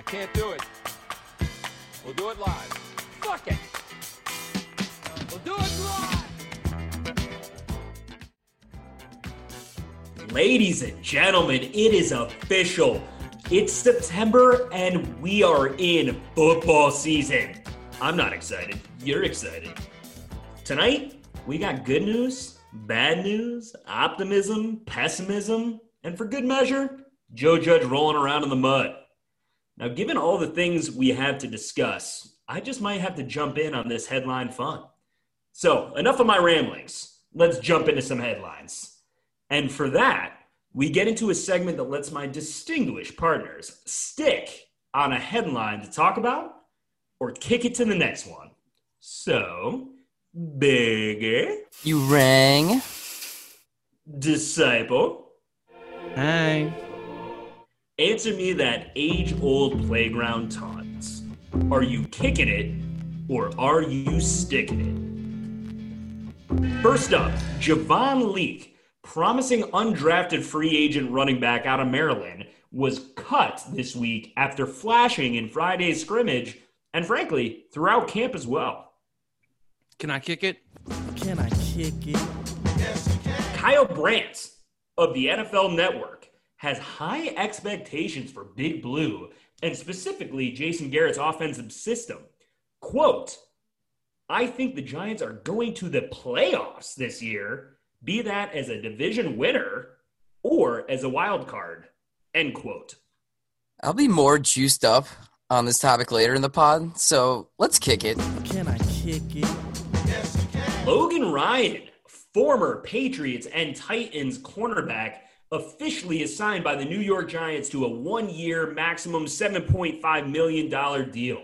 Can't do it. We'll do it live. Fuck it. We'll do it live. Ladies and gentlemen, it is official. It's September and we are in football season. I'm not excited. You're excited. Tonight, we got good news, bad news, optimism, pessimism, and for good measure, Joe Judge rolling around in the mud. Now, given all the things we have to discuss, I just might have to jump in on this headline fun. So, enough of my ramblings. Let's jump into some headlines. And for that, we get into a segment that lets my distinguished partners stick on a headline to talk about or kick it to the next one. So, Bigger. You rang. Disciple. Hey. Answer me that age-old playground taunt. Are you kicking it or are you sticking it? First up, Javon Leake, promising undrafted free agent running back out of Maryland, was cut this week after flashing in Friday's scrimmage and, frankly, throughout camp as well. Can I kick it? Can I kick it? Yes, you can. Kyle Brandt of the NFL Network has high expectations for Big Blue and specifically Jason Garrett's offensive system. Quote, I think the Giants are going to the playoffs this year, be that as a division winner or as a wild card, end quote. I'll be more juiced up on this topic later in the pod, so let's kick it. Can I kick it? Yes, you can. Logan Ryan, former Patriots and Titans cornerback, officially assigned by the New York Giants to a one-year maximum $7.5 million deal.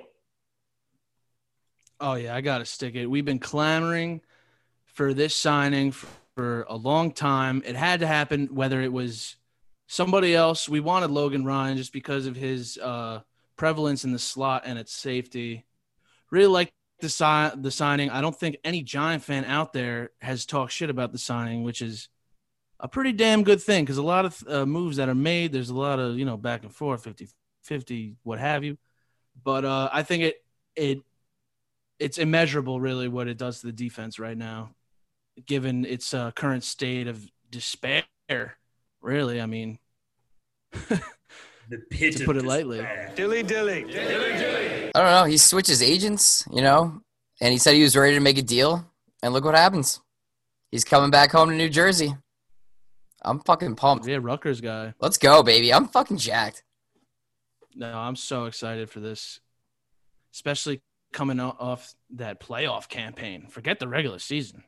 Oh, yeah, I got to stick it. We've been clamoring for this signing for a long time. It had to happen, whether it was somebody else. We wanted Logan Ryan just because of his prevalence in the slot and its safety. Really like the signing. I don't think any Giant fan out there has talked shit about the signing, which is a pretty damn good thing because a lot of moves that are made, there's a lot of, back and forth, 50-50, what have you. But I think it's immeasurable, really, what it does to the defense right now, given its current state of despair, really. I mean, The pit to of put it despair. lightly. Dilly, dilly. Dilly, dilly. I don't know. He switches agents, and he said he was ready to make a deal, and look what happens. He's coming back home to New Jersey. I'm fucking pumped. Yeah, Rutgers guy. Let's go, baby. I'm fucking jacked. No, I'm so excited for this, especially coming off that playoff campaign. Forget the regular season.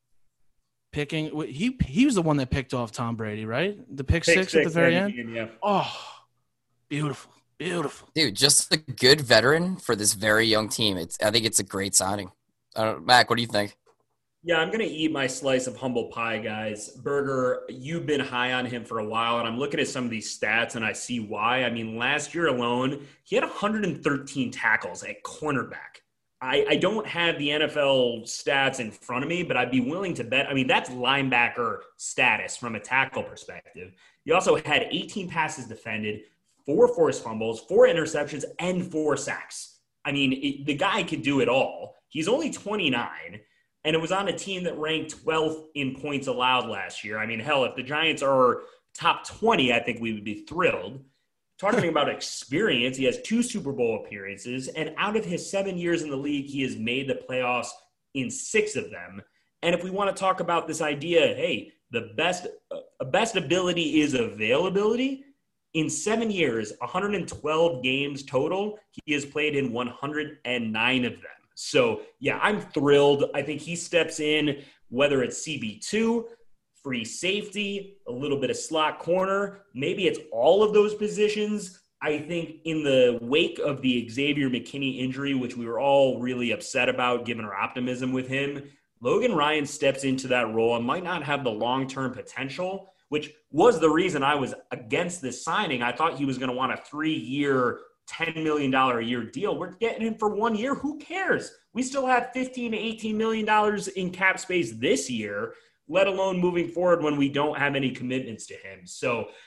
He was the one that picked off Tom Brady, right? The pick six at the very end. Yeah. Oh, beautiful, beautiful. Dude, just a good veteran for this very young team. I think it's a great signing. Mac, what do you think? Yeah, I'm going to eat my slice of humble pie, guys. Berger, you've been high on him for a while, and I'm looking at some of these stats, and I see why. I mean, last year alone, he had 113 tackles at cornerback. I don't have the NFL stats in front of me, but I'd be willing to bet. I mean, that's linebacker status from a tackle perspective. He also had 18 passes defended, 4 forced fumbles, 4 interceptions, and 4 sacks. I mean, the guy could do it all. He's only 29. And it was on a team that ranked 12th in points allowed last year. I mean, hell, if the Giants are top 20, I think we would be thrilled. Talking about experience, he has 2 Super Bowl appearances. And out of his 7 years in the league, he has made the playoffs in 6 of them. And if we want to talk about this idea, hey, the best ability is availability. In 7 years, 112 games total, he has played in 109 of them. So, yeah, I'm thrilled. I think he steps in, whether it's CB2, free safety, a little bit of slot corner, maybe it's all of those positions. I think in the wake of the Xavier McKinney injury, which we were all really upset about given our optimism with him, Logan Ryan steps into that role and might not have the long-term potential, which was the reason I was against this signing. I thought he was going to want a 3-year, $10 million a year deal. We're getting him for 1 year. Who cares? We still have $15 to $18 million in cap space this year, let alone moving forward when we don't have any commitments to him. So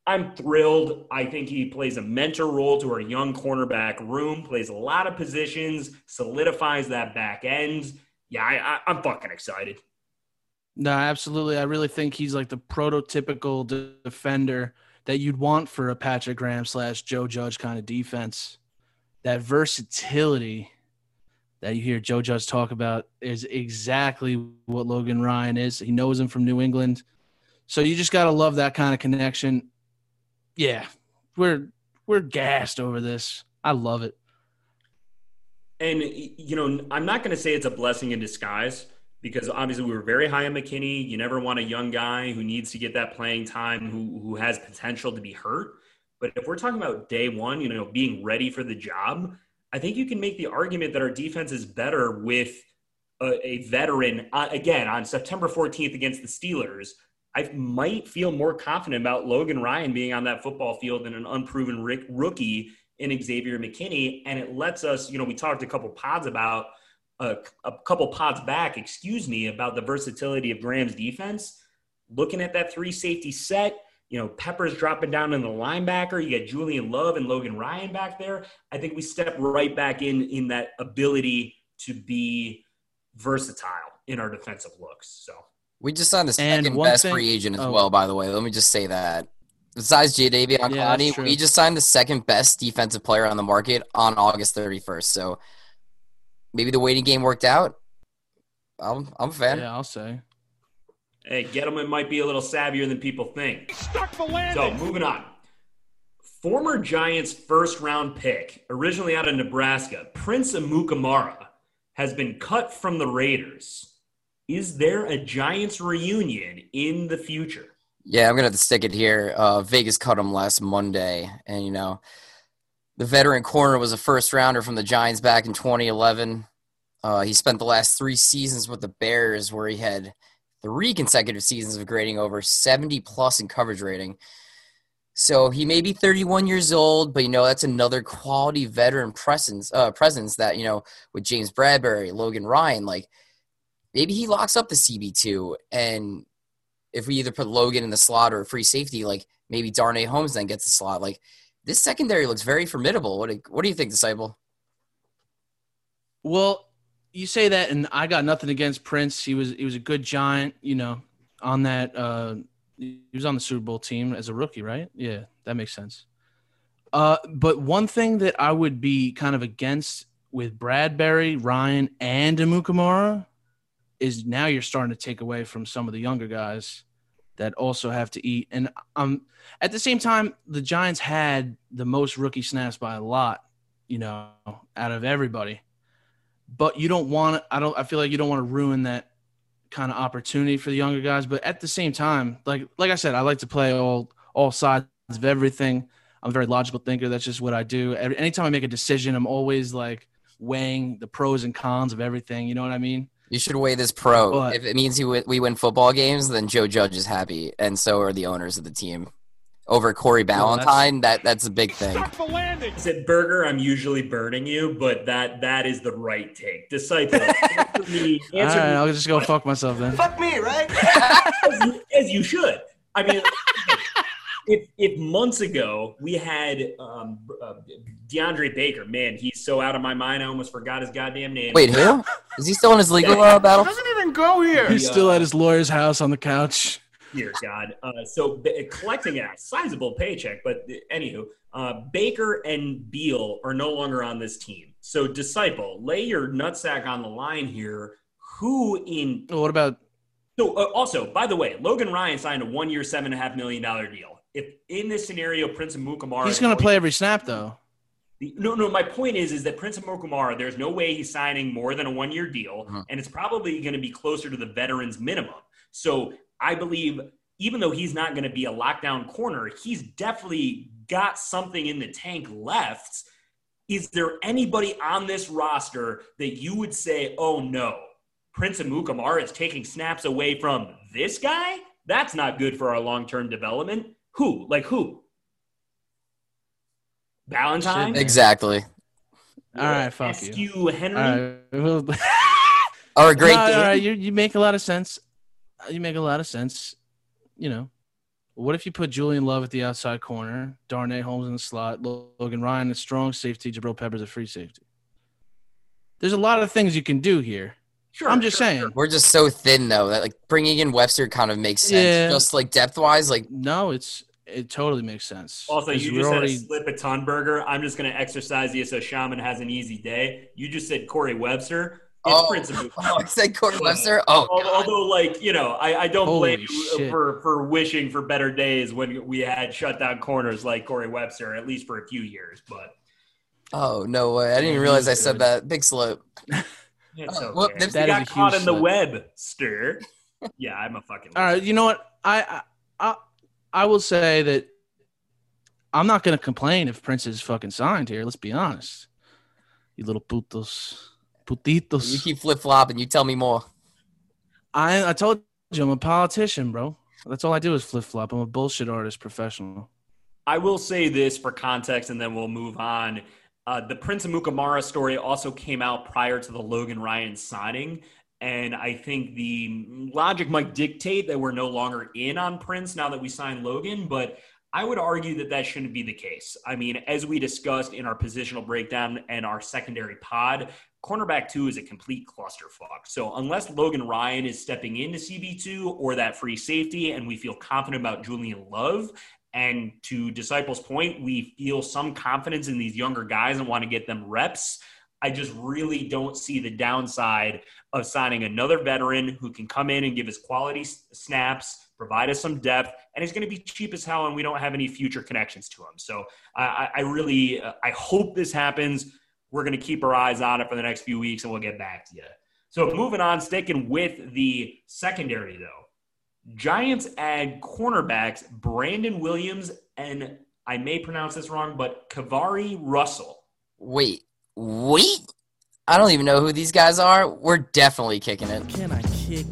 I'm thrilled. I think he plays a mentor role to our young cornerback room, plays a lot of positions, solidifies that back end. Yeah, I'm fucking excited. No, absolutely. I really think he's like the prototypical defender that you'd want for a Patrick Graham / Joe Judge kind of defense. That versatility that you hear Joe Judge talk about is exactly what Logan Ryan is. He knows him from New England. So you just got to love that kind of connection. Yeah, we're gassed over this. I love it. And, I'm not going to say it's a blessing in disguise because obviously we were very high on McKinney. You never want a young guy who needs to get that playing time, who has potential to be hurt. But if we're talking about day one, being ready for the job, I think you can make the argument that our defense is better with a veteran. Again, on September 14th against the Steelers, I might feel more confident about Logan Ryan being on that football field than an unproven rookie in Xavier McKinney. And it lets us, we talked a couple pods back, about the versatility of Graham's defense. Looking at that 3 safety set, Peppers dropping down in the linebacker. You get Julian Love and Logan Ryan back there. I think we step right back in that ability to be versatile in our defensive looks. So we just signed the second best free agent as well, by the way. Let me just say that. Besides Jadeveon Clowney, we just signed the second best defensive player on the market on August 31st. So maybe the waiting game worked out. I'm a fan. Yeah, I'll say. Hey, Gettleman might be a little savvier than people think. So, moving on. Former Giants first-round pick, originally out of Nebraska, Prince Amukamara, has been cut from the Raiders. Is there a Giants reunion in the future? Yeah, I'm going to have to stick it here. Vegas cut him last Monday. And, the veteran corner was a first-rounder from the Giants back in 2011. He spent the last 3 seasons with the Bears where he had 3 consecutive seasons of grading over 70-plus in coverage rating. So he may be 31 years old, but, that's another quality veteran presence that, with James Bradbury, Logan Ryan, maybe he locks up the CB2. And if we either put Logan in the slot or a free safety, maybe Darnay Holmes then gets the slot. This secondary looks very formidable. What do you think, Disciple? Well, you say that, and I got nothing against Prince. He was a good Giant, on that. He was on the Super Bowl team as a rookie, right? Yeah, that makes sense. But one thing that I would be kind of against with Bradbury, Ryan, and Amukamara is now you're starting to take away from some of the younger guys that also have to eat. And at the same time, the Giants had the most rookie snaps by a lot, out of everybody. But you don't want to – I feel like you don't want to ruin that kind of opportunity for the younger guys. But at the same time, like I said, I like to play all sides of everything. I'm a very logical thinker. That's just what I do. Anytime I make a decision, I'm always weighing the pros and cons of everything. You know what I mean? You should weigh this pro. But if it means we win football games, then Joe Judge is happy, and so are the owners of the team. Over Corey Ballantyne, that's a big thing. I said, Burger, I'm usually burning you, but that is the right take. Disciple, answer me. All right, I'll just go fuck myself then. Fuck me, right? as you should. I mean, if months ago we had DeAndre Baker, man, he's so out of my mind, I almost forgot his goddamn name. Wait, who? Is he still in his legal battle? Doesn't even go here. He's still at his lawyer's house on the couch. Dear God. So collecting a sizable paycheck, but anywho, Baker and Beal are no longer on this team. So Disciple, lay your nutsack on the line here. What about? So also, by the way, Logan Ryan signed a 1-year, $7.5 million deal. If in this scenario, Prince Amukamara, he's going to play every snap though. No. My point is that Prince Amukamara, there's no way he's signing more than a 1-year deal, and it's probably going to be closer to the veterans minimum. So I believe even though he's not going to be a lockdown corner, he's definitely got something in the tank left. Is there anybody on this roster that you would say, oh no, Prince Amukamara is taking snaps away from this guy? That's not good for our long-term development. Who? Ballantyne? Exactly. All right, fuck you. Henry? All right. Or a great all right, you make a lot of sense. You make a lot of sense. We'll What if you put Julian Love at the outside corner, Darnay Holmes in the slot, Logan Ryan at strong safety, Jabril Peppers at free safety? There's a lot of things you can do here. Sure, I'm just saying. We're just so thin though that like bringing in Webster kind of makes sense. Yeah. Just like depth wise, like No, it totally makes sense. Also, 'Cause you we're just already- had a slip a ton burger. I'm just going to exercise you so Shaman has an easy day. You just said Corey Webster. It's Prince Amukamara. I said Corey Webster. Oh, Although, like, you know, I don't Holy blame you shit. for wishing for better days when we had shutdown corners like Corey Webster, at least for a few years. But oh no way! I didn't even realize I said that. Big slip. it's Oh, okay. well, You that is got a caught huge in the slip. web, stir. Yeah, I'm a fucking. All right, you know what? I will say that I'm not going to complain if Prince is fucking signed here. Let's be honest. You little putitos. You keep flip flopping. You tell me more. I told you I'm a politician, bro. That's all I do is flip flop. I'm a bullshit artist professional. I will say this for context, and then we'll move on. The Prince Amukamara story also came out prior to the Logan Ryan signing, and I think the logic might dictate that we're no longer in on Prince now that we signed Logan, but I would argue that that shouldn't be the case. I mean, as we discussed in our positional breakdown and our secondary pod, cornerback 2 is a complete clusterfuck. So unless Logan Ryan is stepping into CB2 or that free safety, and we feel confident about Julian Love, and to Disciple's point, we feel some confidence in these younger guys and want to get them reps, I just really don't see the downside of signing another veteran who can come in and give us quality snaps, provide us some depth, and he's going to be cheap as hell, and we don't have any future connections to him. So I really hope this happens. We're going to keep our eyes on it for the next few weeks, and we'll get back to you. So moving on, sticking with the secondary, though. Giants add cornerbacks Brandon Williams and, I may pronounce this wrong, but Kavari Russell. Wait. I don't even know who these guys are. We're definitely kicking it. Can I kick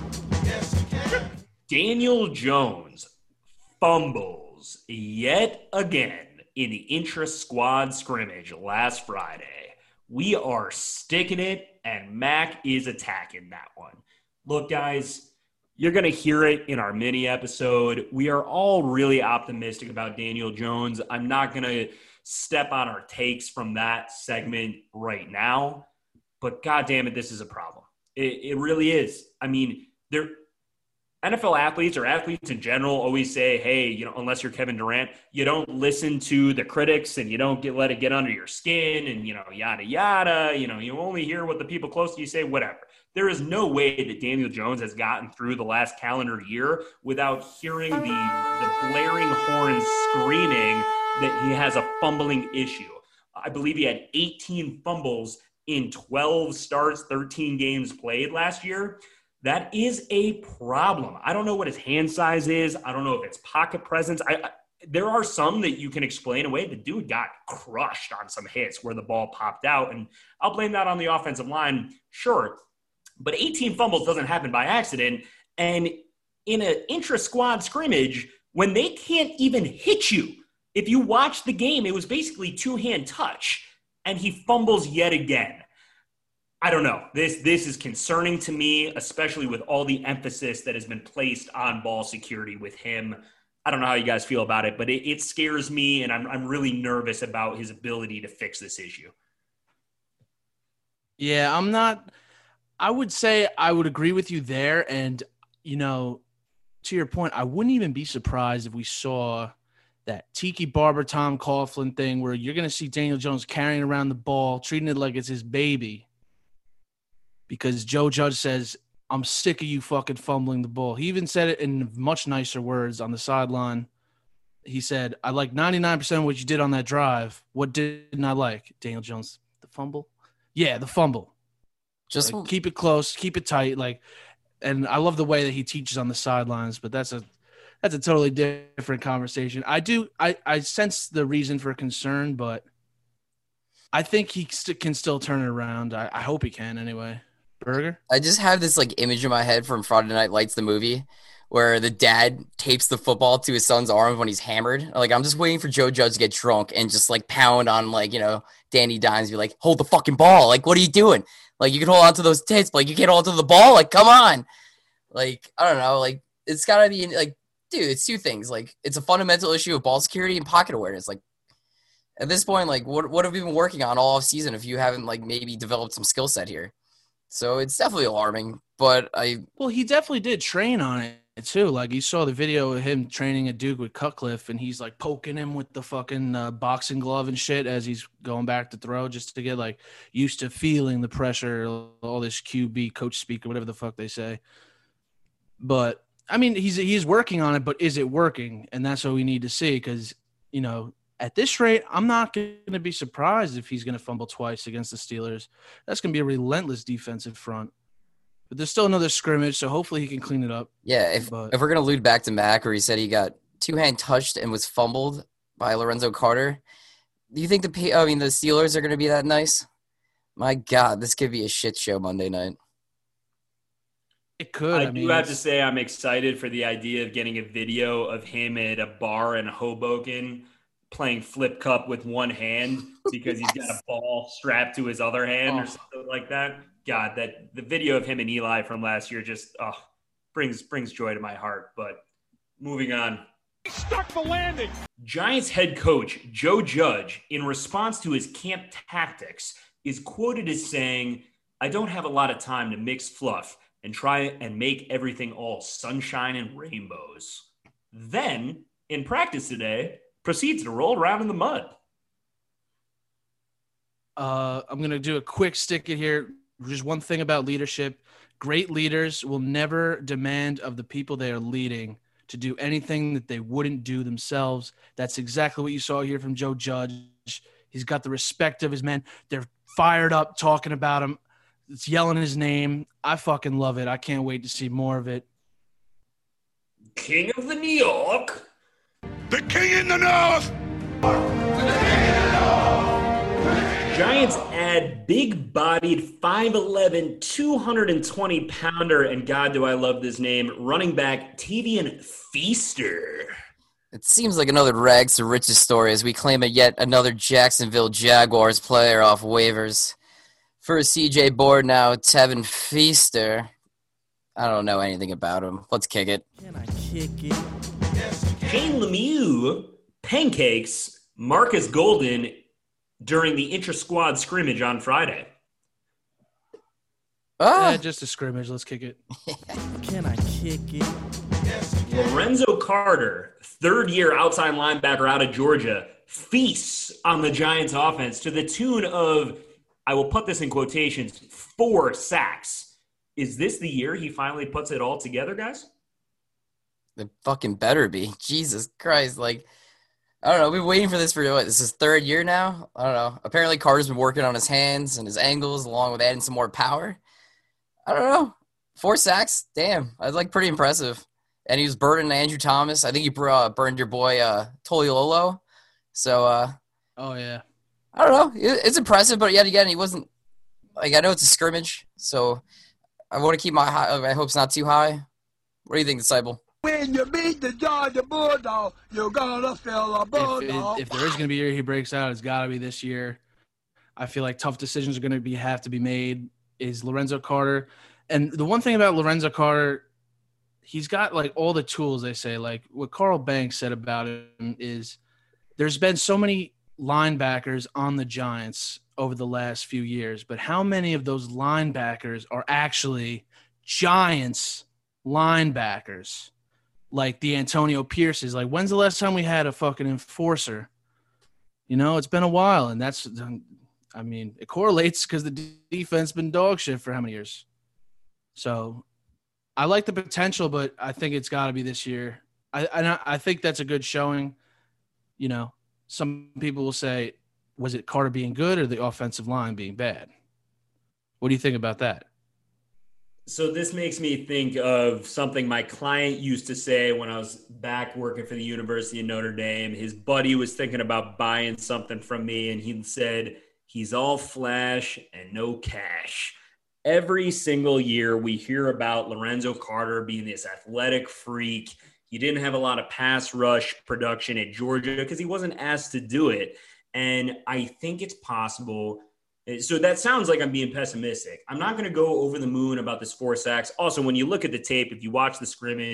it? Daniel Jones fumbles yet again in the intra-squad scrimmage last Friday. We are sticking it, and Mac is attacking that one. Look, guys, you're going to hear it in our mini episode. We are all really optimistic about Daniel Jones. I'm not going to step on our takes from that segment right now, but God damn it, this is a problem. It really is. I mean, NFL athletes or athletes in general always say, hey, you know, unless you're Kevin Durant, you don't listen to the critics and you don't let it get under your skin and, you know, yada, yada. You know, you only hear what the people close to you say, whatever. There is no way that Daniel Jones has gotten through the last calendar year without hearing the blaring horns screaming that he has a fumbling issue. I believe he had 18 fumbles in 12 starts, 13 games played last year. That is a problem. I don't know what his hand size is. I don't know if it's pocket presence. There are some that you can explain away. The dude got crushed on some hits where the ball popped out, and I'll blame that on the offensive line, sure. But 18 fumbles doesn't happen by accident. And in an intra-squad scrimmage, when they can't even hit you, if you watch the game, it was basically two-hand touch, and he fumbles yet again. I don't know. This is concerning to me, especially with all the emphasis that has been placed on ball security with him. I don't know how you guys feel about it, but it scares me, and I'm really nervous about his ability to fix this issue. Yeah, I'm not – I would say I would agree with you there. And, you know, to your point, I wouldn't even be surprised if we saw that Tiki Barber, Tom Coughlin thing where you're going to see Daniel Jones carrying around the ball, treating it like it's his baby. Because Joe Judge says, I'm sick of you fucking fumbling the ball. He even said it in much nicer words on the sideline. He said, I like 99% of what you did on that drive. What didn't I like? Daniel Jones, the fumble? Yeah, the fumble. Just Like, keep it close, keep it tight. Like, and I love the way that he teaches on the sidelines, but that's a totally different conversation. I sense the reason for concern, but I think he can still turn it around. I hope he can anyway. Burger? I just have this like image in my head from Friday Night Lights, the movie, where the dad tapes the football to his son's arm when he's hammered. Like, I'm just waiting for Joe Judge to get drunk and just like pound on like, you know, Danny Dimes, be like, hold the fucking ball. Like, what are you doing? Like, you can hold on to those tits, but like, you can't hold on to the ball. Like, come on. Like, I don't know. Like, it's gotta be like dude, it's two things. Like, it's a fundamental issue of ball security and pocket awareness. Like, at this point, like, what have we been working on all off season if you haven't, like, maybe developed some skill set here? So it's definitely alarming, but Well, he definitely did train on it too. Like, you saw the video of him training at Duke with Cutcliffe, and he's like poking him with the fucking boxing glove and shit as he's going back to throw, just to get like used to feeling the pressure, all this QB coach speak or whatever the fuck they say. But I mean, he's working on it, but is it working? And that's what we need to see, because, you know, at this rate, I'm not going to be surprised if he's going to fumble twice against the Steelers. That's going to be a relentless defensive front. But there's still another scrimmage, so hopefully he can clean it up. yeah, if we're going to allude back to Mac, where he said he got two-hand touched and was fumbled by Lorenzo Carter, do you think the Steelers are going to be that nice? My God, this could be a shit show Monday night. It could. I do have to say I'm excited for the idea of getting a video of him at a bar in Hoboken playing flip cup with one hand because he's got a ball strapped to his other hand or something like that. God, that the video of him and Eli from last year just brings joy to my heart. But moving on. He stuck the landing. Giants head coach Joe Judge, in response to his camp tactics, is quoted as saying, "I don't have a lot of time to mix fluff and try and make everything all sunshine and rainbows." Then, in practice today, proceeds to roll around in the mud. I'm going to do a quick stick it here. Just one thing about leadership. Great leaders will never demand of the people they are leading to do anything that they wouldn't do themselves. That's exactly what you saw here from Joe Judge. He's got the respect of his men. They're fired up talking about him. It's yelling his name. I fucking love it. I can't wait to see more of it. King of the New York. The king in the north. Giants add big-bodied 5'11", 220-pounder, and God, do I love this name, running back Tavian Feaster. It seems like another rags to riches story as we claim yet another Jacksonville Jaguars player off waivers. First CJ Board, now Tevin Feaster. I don't know anything about him. Let's kick it. Can I kick it? Shane Lemieux pancakes Marcus Golden during the intra-squad scrimmage on Friday. Yeah, just a scrimmage. Let's kick it. Can I kick it? Lorenzo Carter, third-year outside linebacker out of Georgia, feasts on the Giants offense to the tune of, I will put this in quotations, 4 sacks. Is this the year he finally puts it all together, guys? It fucking better be. Jesus Christ. Like, I don't know. We've been waiting for this for, what, this is third year now? I don't know. Apparently Carter's been working on his hands and his angles along with adding some more power. I don't know. 4 sacks? Damn. That's, like, pretty impressive. And he was burning Andrew Thomas. I think he burned your boy Toliolo. So, Oh, yeah. I don't know. It's impressive, but yet again, he wasn't – like, I know it's a scrimmage, so I want to keep my hopes not too high. What do you think, Disciple? When you beat the Georgia Bulldog, you're gonna feel a bulldog. If there is going to be a year he breaks out, it's got to be this year. I feel like tough decisions are going to have to be made. Is Lorenzo Carter. And the one thing about Lorenzo Carter, he's got, like, all the tools, they say. Like, what Carl Banks said about him is there's been so many linebackers on the Giants over the last few years, but how many of those linebackers are actually Giants linebackers? Like the Antonio Pierces. Like, when's the last time we had a fucking enforcer? You know, it's been a while, and that's – I mean, it correlates because the defense been dog shit for how many years? So I like the potential, but I think it's got to be this year. I think that's a good showing. You know, some people will say, was it Carter being good or the offensive line being bad? What do you think about that? So this makes me think of something my client used to say when I was back working for the University of Notre Dame. His buddy was thinking about buying something from me, and he said, he's all flash and no cash. Every single year we hear about Lorenzo Carter being this athletic freak. He didn't have a lot of pass rush production at Georgia because he wasn't asked to do it. And I think it's possible. So that sounds like I'm being pessimistic. I'm not going to go over the moon about this 4 sacks. Also, when you look at the tape, if you watch the scrimmage,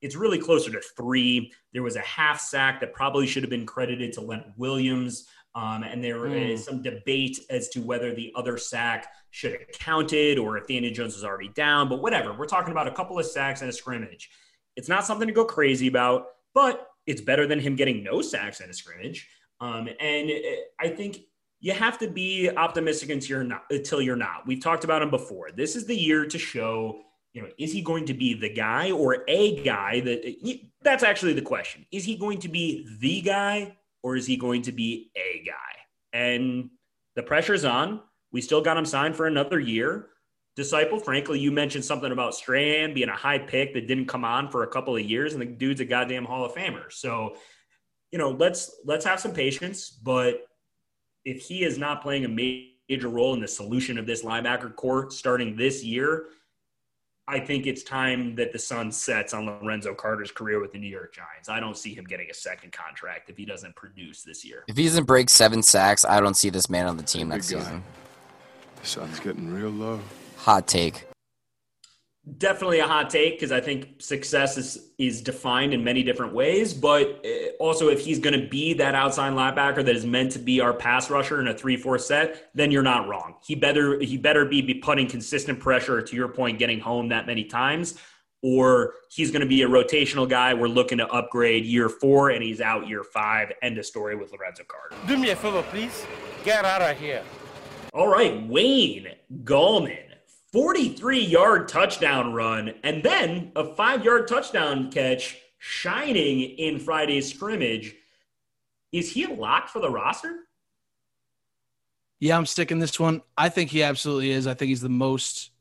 it's really closer to 3. There was a half sack that probably should have been credited to Leonard Williams. And there is some debate as to whether the other sack should have counted or if Daniel Jones was already down, but whatever. We're talking about a couple of sacks and a scrimmage. It's not something to go crazy about, but it's better than him getting no sacks and a scrimmage. And I think you have to be optimistic until you're not. We've talked about him before. This is the year to show, is he going to be the guy or a guy that's actually the question. Is he going to be the guy or is he going to be a guy? And the pressure's on. We still got him signed for another year. Disciple, frankly, you mentioned something about Strahan being a high pick that didn't come on for a couple of years, and the dude's a goddamn Hall of Famer. So, let's have some patience. But if he is not playing a major role in the solution of this linebacker core starting this year, I think it's time that the sun sets on Lorenzo Carter's career with the New York Giants. I don't see him getting a second contract if he doesn't produce this year. If he doesn't break 7 sacks, I don't see this man on the team next season. The sun's getting real low. Hot take. Definitely a hot take because I think success is defined in many different ways. But also, if he's going to be that outside linebacker that is meant to be our pass rusher in a 3-4 set, then you're not wrong. He better be putting consistent pressure, to your point, getting home that many times, or he's going to be a rotational guy. We're looking to upgrade year 4, and he's out year 5. End of story with Lorenzo Carter. Do me a favor, please. Get out of here. All right, Wayne Gallman. 43-yard touchdown run, and then a 5-yard touchdown catch shining in Friday's scrimmage. Is he a lock for the roster? Yeah, I'm sticking this one. I think he absolutely is. I think he's the most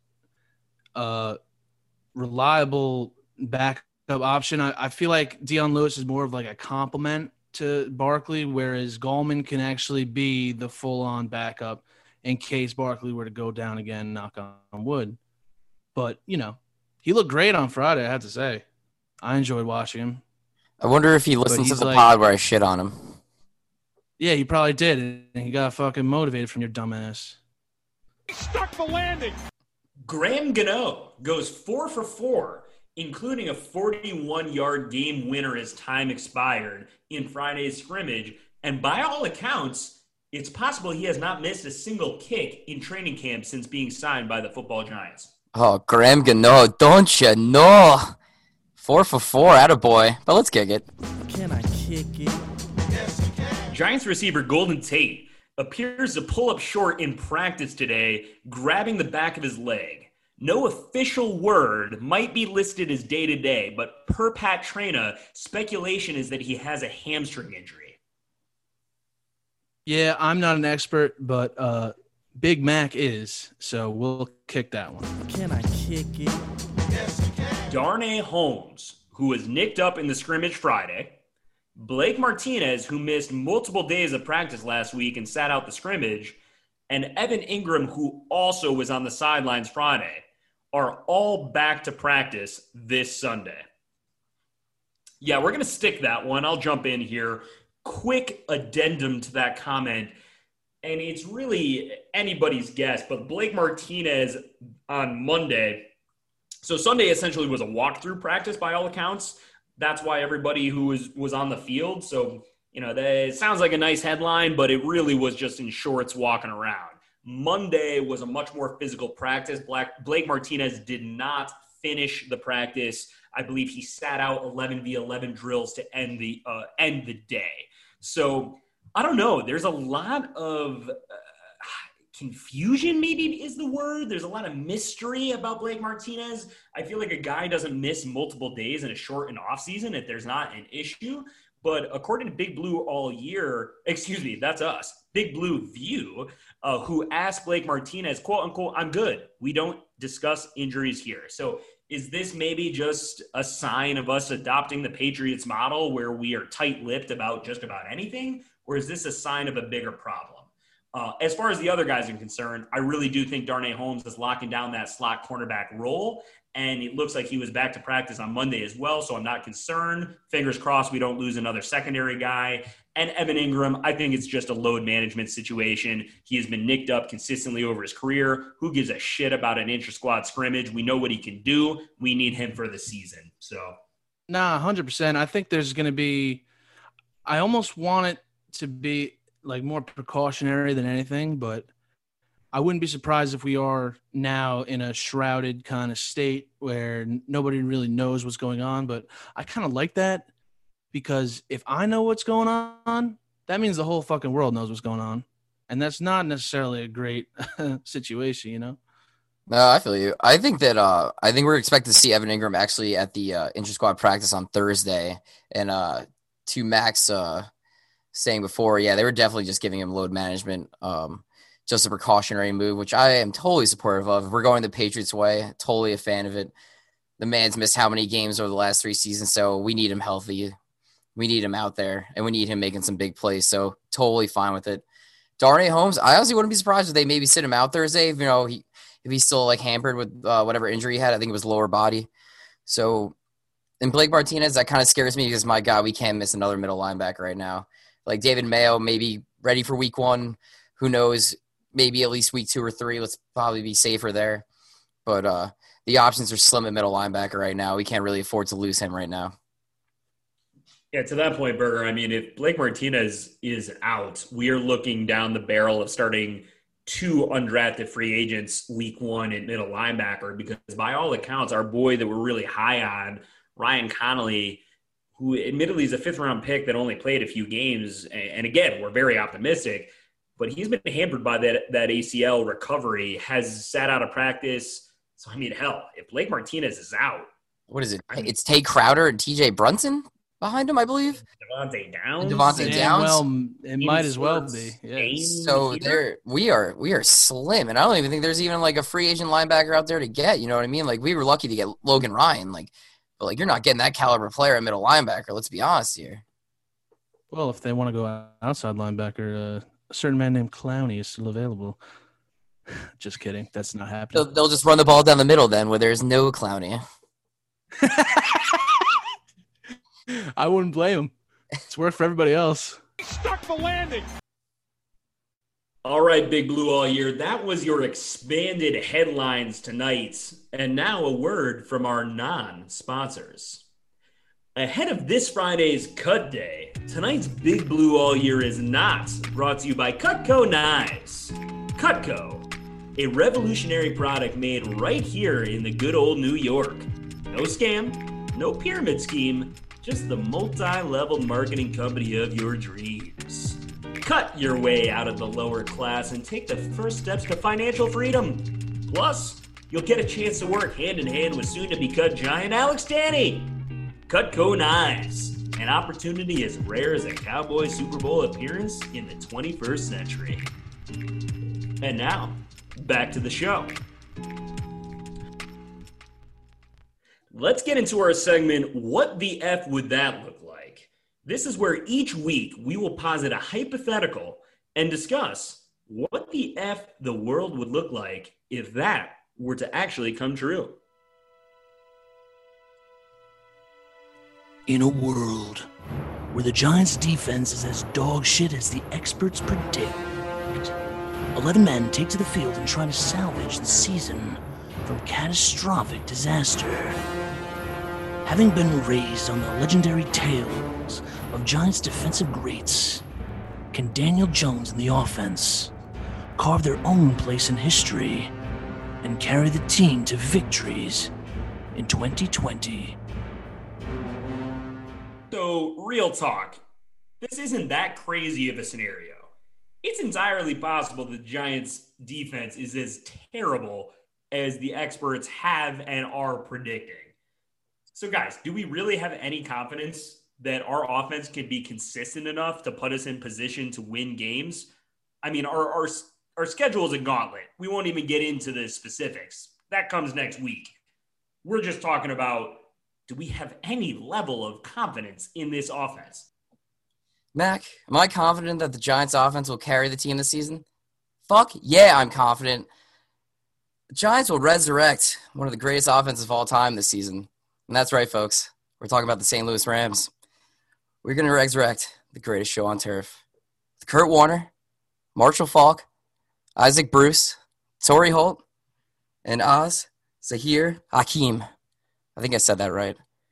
reliable backup option. I feel like Dion Lewis is more of like a compliment to Barkley, whereas Gallman can actually be the full-on backup in case Barkley were to go down again, knock on wood. But, he looked great on Friday, I have to say. I enjoyed watching him. I wonder if he listened to the pod where I shit on him. Yeah, he probably did, and he got fucking motivated from your dumbass. He stuck the landing. Graham Gano goes 4 for 4, including a 41-yard game winner as time expired in Friday's scrimmage. And by all accounts, it's possible he has not missed a single kick in training camp since being signed by the football Giants. Oh, Graham Gano, don't you know? 4 for 4, attaboy. But let's kick it. Can I kick it? Giants receiver Golden Tate appears to pull up short in practice today, grabbing the back of his leg. No official word might be listed as day-to-day, but per Pat Traina, speculation is that he has a hamstring injury. Yeah, I'm not an expert, but Big Mac is, so we'll kick that one. Can I kick it? Darnay Holmes, who was nicked up in the scrimmage Friday, Blake Martinez, who missed multiple days of practice last week and sat out the scrimmage, and Evan Ingram, who also was on the sidelines Friday, are all back to practice this Sunday. Yeah, we're going to stick that one. I'll jump in here. Quick addendum to that comment, and it's really anybody's guess, but Blake Martinez on Monday, so Sunday essentially was a walkthrough practice by all accounts. That's why everybody who was on the field, so, it sounds like a nice headline, but it really was just in shorts walking around. Monday was a much more physical practice. Blake Martinez did not finish the practice. I believe he sat out 11v11 drills to end the day. So I don't know. There's a lot of confusion, maybe is the word. There's a lot of mystery about Blake Martinez. I feel like a guy doesn't miss multiple days in a shortened offseason if there's not an issue. But according to Big Blue All Year, that's us, Big Blue View, who asked Blake Martinez, quote unquote, "I'm good. We don't discuss injuries here." So is this maybe just a sign of us adopting the Patriots model where we are tight-lipped about just about anything? Or is this a sign of a bigger problem? As far as the other guys are concerned, I really do think Darnay Holmes is locking down that slot cornerback role. And it looks like he was back to practice on Monday as well, so I'm not concerned. Fingers crossed we don't lose another secondary guy. And Evan Ingram, I think it's just a load management situation. He has been nicked up consistently over his career. Who gives a shit about an intra-squad scrimmage? We know what he can do. We need him for the season. So Nah, 100%. I think there's going to be – I almost want it to be like more precautionary than anything, but I wouldn't be surprised if we are now in a shrouded kind of state where nobody really knows what's going on. But I kind of like that because if I know what's going on, that means the whole fucking world knows what's going on. And that's not necessarily a great situation, you know? No, I feel you. I think we're expected to see Evan Ingram actually at the intra-squad practice on Thursday. And to Max saying before, yeah, they were definitely just giving him load management, just a precautionary move, which I am totally supportive of. If we're going the Patriots way, totally a fan of it. The man's missed how many games over the last 3 seasons, so we need him healthy. We need him out there, and we need him making some big plays, so totally fine with it. Darnay Holmes, I honestly wouldn't be surprised if they maybe sit him out Thursday, if he's still like hampered with whatever injury he had. I think it was lower body. So, and Blake Martinez, that kind of scares me because, my God, we can't miss another middle linebacker right now. Like David Mayo, maybe ready for week 1. Who knows? Maybe at least week 2 or 3. Let's probably be safer there. But the options are slim at middle linebacker right now. We can't really afford to lose him right now. Yeah, to that point, Berger, I mean, if Blake Martinez is out, we are looking down the barrel of starting 2 undrafted free agents week 1 at middle linebacker, because by all accounts, our boy that we're really high on, Ryan Connolly, who admittedly is a 5th-round pick that only played a few games, and again, we're very optimistic, but he's been hampered by that ACL recovery, has sat out of practice. So, I mean, hell, if Blake Martinez is out. What is it? It's Tay Crowder and TJ Brunson behind him, I believe. Devontae Downs. Well, it might as well be. Yeah. So we are slim, and I don't even think there's even like a free agent linebacker out there to get. You know what I mean? Like, we were lucky to get Logan Ryan. But you're not getting that caliber player at middle linebacker. Let's be honest here. Well, if they want to go outside linebacker, a certain man named Clowney is still available. Just kidding. That's not happening. They'll just run the ball down the middle then, where there's no Clowney. I wouldn't blame him. It's worked for everybody else. Stuck the landing. All right, Big Blue all year. That was your expanded headlines tonight. And now a word from our non-sponsors. Ahead of this Friday's Cut Day, tonight's Big Blue all year is not brought to you by Cutco Knives. Cutco, a revolutionary product made right here in the good old New York. No scam, no pyramid scheme, just the multi-level marketing company of your dreams. Cut your way out of the lower class and take the first steps to financial freedom. Plus, you'll get a chance to work hand in hand with soon-to-be-cut giant Alex Danny. Cutco Knives, an opportunity as rare as a Cowboy Super Bowl appearance in the 21st century. And now, back to the show. Let's get into our segment, What the F Would That Look Like? This is where each week we will posit a hypothetical and discuss what the F the world would look like if that were to actually come true. In a world where the Giants' defense is as dog shit as the experts predict, 11 men take to the field and try to salvage the season from catastrophic disaster. Having been raised on the legendary tales of Giants' defensive greats, can Daniel Jones and the offense carve their own place in history and carry the team to victories in 2020? So, real talk, this isn't that crazy of a scenario. It's entirely possible the Giants' defense is as terrible as the experts have and are predicting. So, guys, do we really have any confidence that our offense can be consistent enough to put us in position to win games? I mean, our schedule is a gauntlet. We won't even get into the specifics. That comes next week. We're just talking about, do we have any level of confidence in this offense? Mac, am I confident that the Giants offense will carry the team this season? Fuck yeah, I'm confident. The Giants will resurrect one of the greatest offenses of all time this season. And that's right, folks. We're talking about the St. Louis Rams. We're going to resurrect the greatest show on turf. With Kurt Warner, Marshall Faulk, Isaac Bruce, Torrey Holt, and Zahir Hakim. I think I said that right.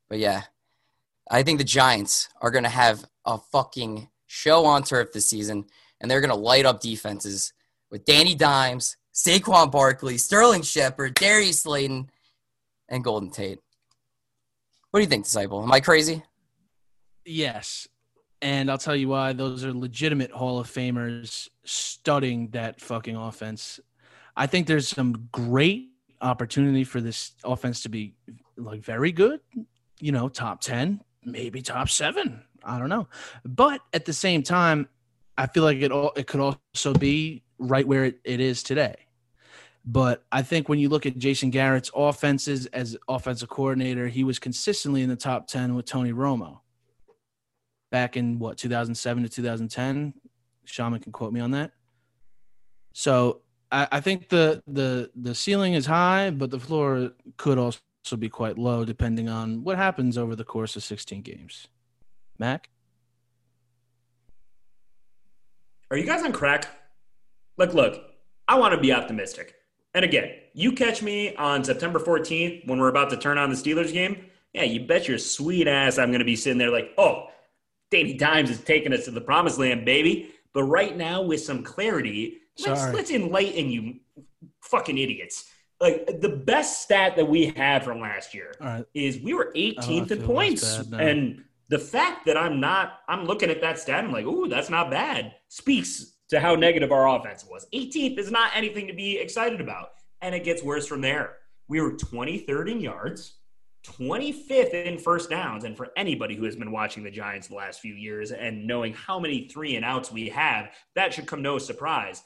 But yeah, I think the Giants are going to have a fucking show on turf this season, and they're going to light up defenses with Danny Dimes, Saquon Barkley, Sterling Shepard, Darius Slayton, and Golden Tate. What do you think, Disciple? Am I crazy? Yes. And I'll tell you why. Those are legitimate Hall of Famers studying that fucking offense. I think there's some great opportunity for this offense to be like very good, top 10, maybe top 7. I don't know. But at the same time, I feel like it could also be right where it is today. But I think when you look at Jason Garrett's offenses as offensive coordinator, he was consistently in the top 10 with Tony Romo back in 2007 to 2010. Shaman can quote me on that. So I think the ceiling is high, but the floor could also be quite low depending on what happens over the course of 16 games. Mac? Are you guys on crack? Look, I want to be optimistic. And again, you catch me on September 14th when we're about to turn on the Steelers game. Yeah, you bet your sweet ass I'm going to be sitting there like, oh, Danny Dimes is taking us to the promised land, baby. But right now, with some clarity, let's enlighten you fucking idiots. Like, the best stat that we had from last year is we were 18th in points. And the fact that I'm looking at that stat, I'm like, ooh, that's not bad, speaks to how negative our offense was. 18th is not anything to be excited about. And it gets worse from there. We were 23rd in yards, 25th in first downs. And for anybody who has been watching the Giants the last few years and knowing how many 3-and-outs we have, that should come no surprise.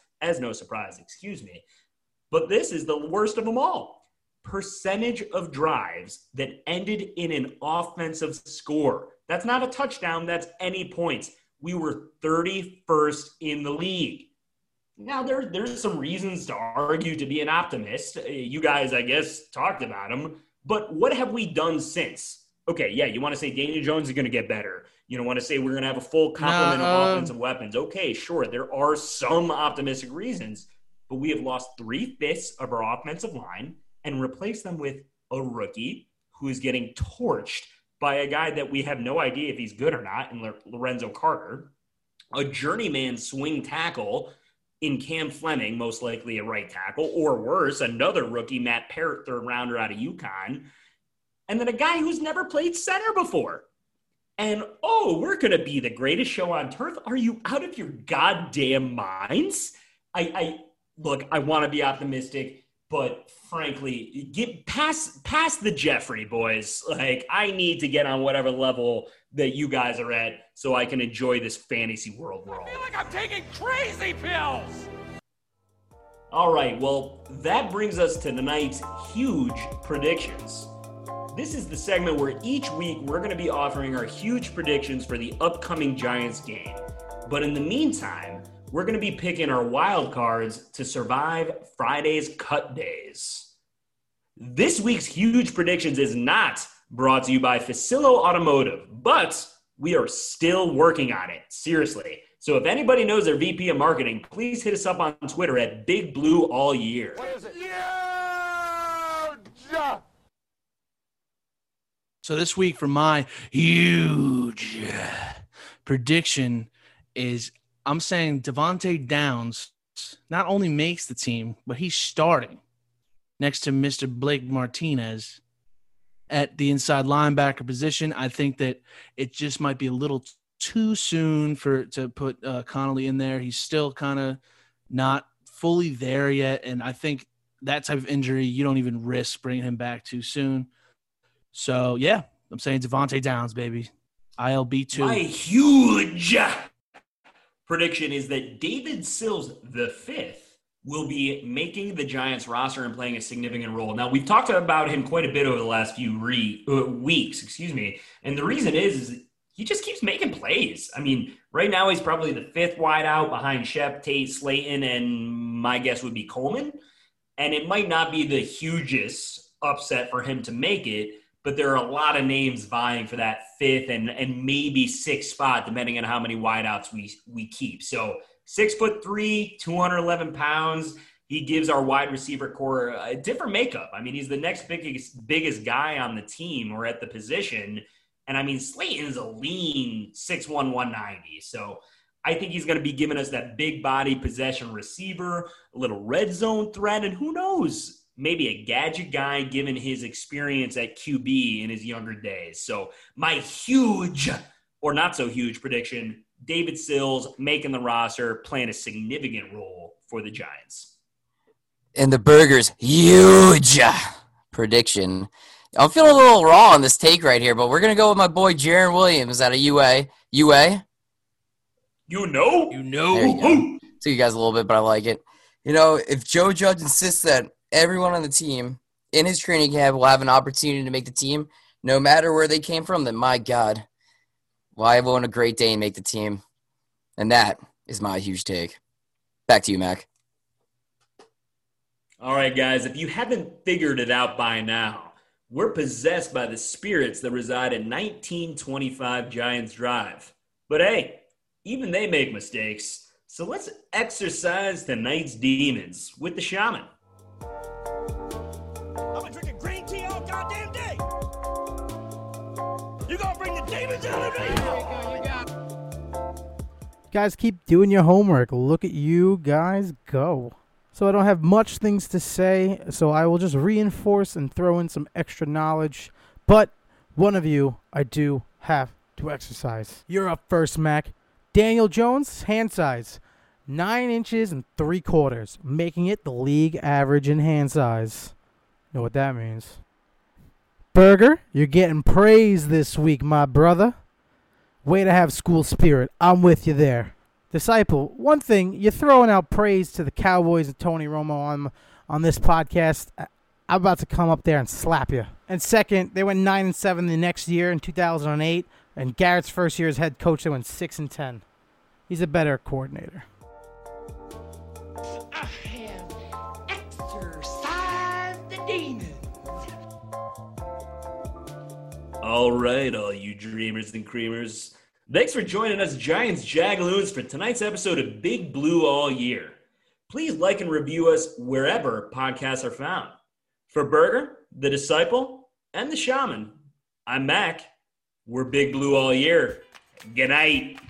But this is the worst of them all. Percentage of drives that ended in an offensive score. That's not a touchdown. That's any points. We were 31st in the league. Now, there's some reasons to argue to be an optimist. You guys, I guess, talked about them. But what have we done since? Okay, yeah, you want to say Daniel Jones is going to get better. You don't want to say we're going to have a full complement of offensive weapons. Okay, sure, there are some optimistic reasons. But we have lost 3/5 of our offensive line and replaced them with a rookie who is getting torched by a guy that we have no idea if he's good or not in Lorenzo Carter, a journeyman swing tackle in Cam Fleming, most likely a right tackle, or worse, another rookie, Matt Parrott, third rounder out of UConn, and then a guy who's never played center before. And, we're going to be the greatest show on turf? Are you out of your goddamn minds? Look, I want to be optimistic, but frankly, get past the Jeffrey, boys. Like, I need to get on whatever level that you guys are at so I can enjoy this fantasy world we're all in. I feel like I'm taking crazy pills! All right, well, that brings us to tonight's huge predictions. This is the segment where each week we're going to be offering our huge predictions for the upcoming Giants game. But in the meantime, we're going to be picking our wild cards to survive Friday's cut days. This week's huge predictions is not brought to you by Facilo Automotive, but we are still working on it. Seriously. So if anybody knows their VP of marketing, please hit us up on Twitter at Big Blue All Year. What is it? Huge! So this week for my huge prediction is I'm saying Devontae Downs not only makes the team, but he's starting next to Mr. Blake Martinez at the inside linebacker position. I think that it just might be a little too soon to put Connolly in there. He's still kind of not fully there yet, and I think that type of injury, you don't even risk bringing him back too soon. So, yeah, I'm saying Devontae Downs, baby. ILB2. My huge prediction is that David Sills V will be making the Giants roster and playing a significant role. Now, we've talked about him quite a bit over the last few weeks, and the reason is he just keeps making plays. I mean, right now he's probably the 5th wide out behind Shep, Tate, Slayton, and my guess would be Coleman. And it might not be the hugest upset for him to make it, but there are a lot of names vying for that 5th and maybe 6th spot, depending on how many wideouts we keep. So 6'3", 211 pounds. He gives our wide receiver core a different makeup. I mean, he's the next biggest guy on the team or at the position. And I mean, Slayton's a lean 6'1", 190. So I think he's going to be giving us that big body possession receiver, a little red zone threat, and who knows, maybe a gadget guy given his experience at QB in his younger days. So my huge or not so huge prediction, David Sills making the roster, playing a significant role for the Giants. And the Burgers, huge prediction. I'm feeling a little raw on this take right here, but we're going to go with my boy Jaron Williams out of UA. UA? You know? There you go. Took you guys a little bit, but I like it. You know, if Joe Judge insists that everyone on the team in his training camp will have an opportunity to make the team, no matter where they came from, then my God, why won't a Great Dane make the team? And that is my huge take. Back to you, Mac. All right, guys, if you haven't figured it out by now, we're possessed by the spirits that reside in 1925 Giants Drive. But hey, even they make mistakes. So let's exercise tonight's demons with the shaman. I've been drinking green tea all goddamn day. You gonna bring the demons out of me? Guys, keep doing your homework. Look at you guys go. So I don't have much things to say, so I will just reinforce and throw in some extra knowledge. But one of you, I do have to exercise. You're up first, Mac. Daniel Jones, hand size, 9 inches and 3/4, making it the league average in hand size. Know what that means? Burger, you're getting praise this week, my brother. Way to have school spirit. I'm with you there. Disciple, one thing, you're throwing out praise to the Cowboys and Tony Romo on this podcast. I'm about to come up there and slap you. And second, they went 9-7 the next year in 2008, and Garrett's first year as head coach, they went 6-10. He's a better coordinator. I have exorcised the demons. All right, all you dreamers and creamers. Thanks for joining us, Giants Jagaloons, for tonight's episode of Big Blue All Year. Please like and review us wherever podcasts are found. For Burger, the Disciple, and the Shaman, I'm Mac. We're Big Blue All Year. Good night.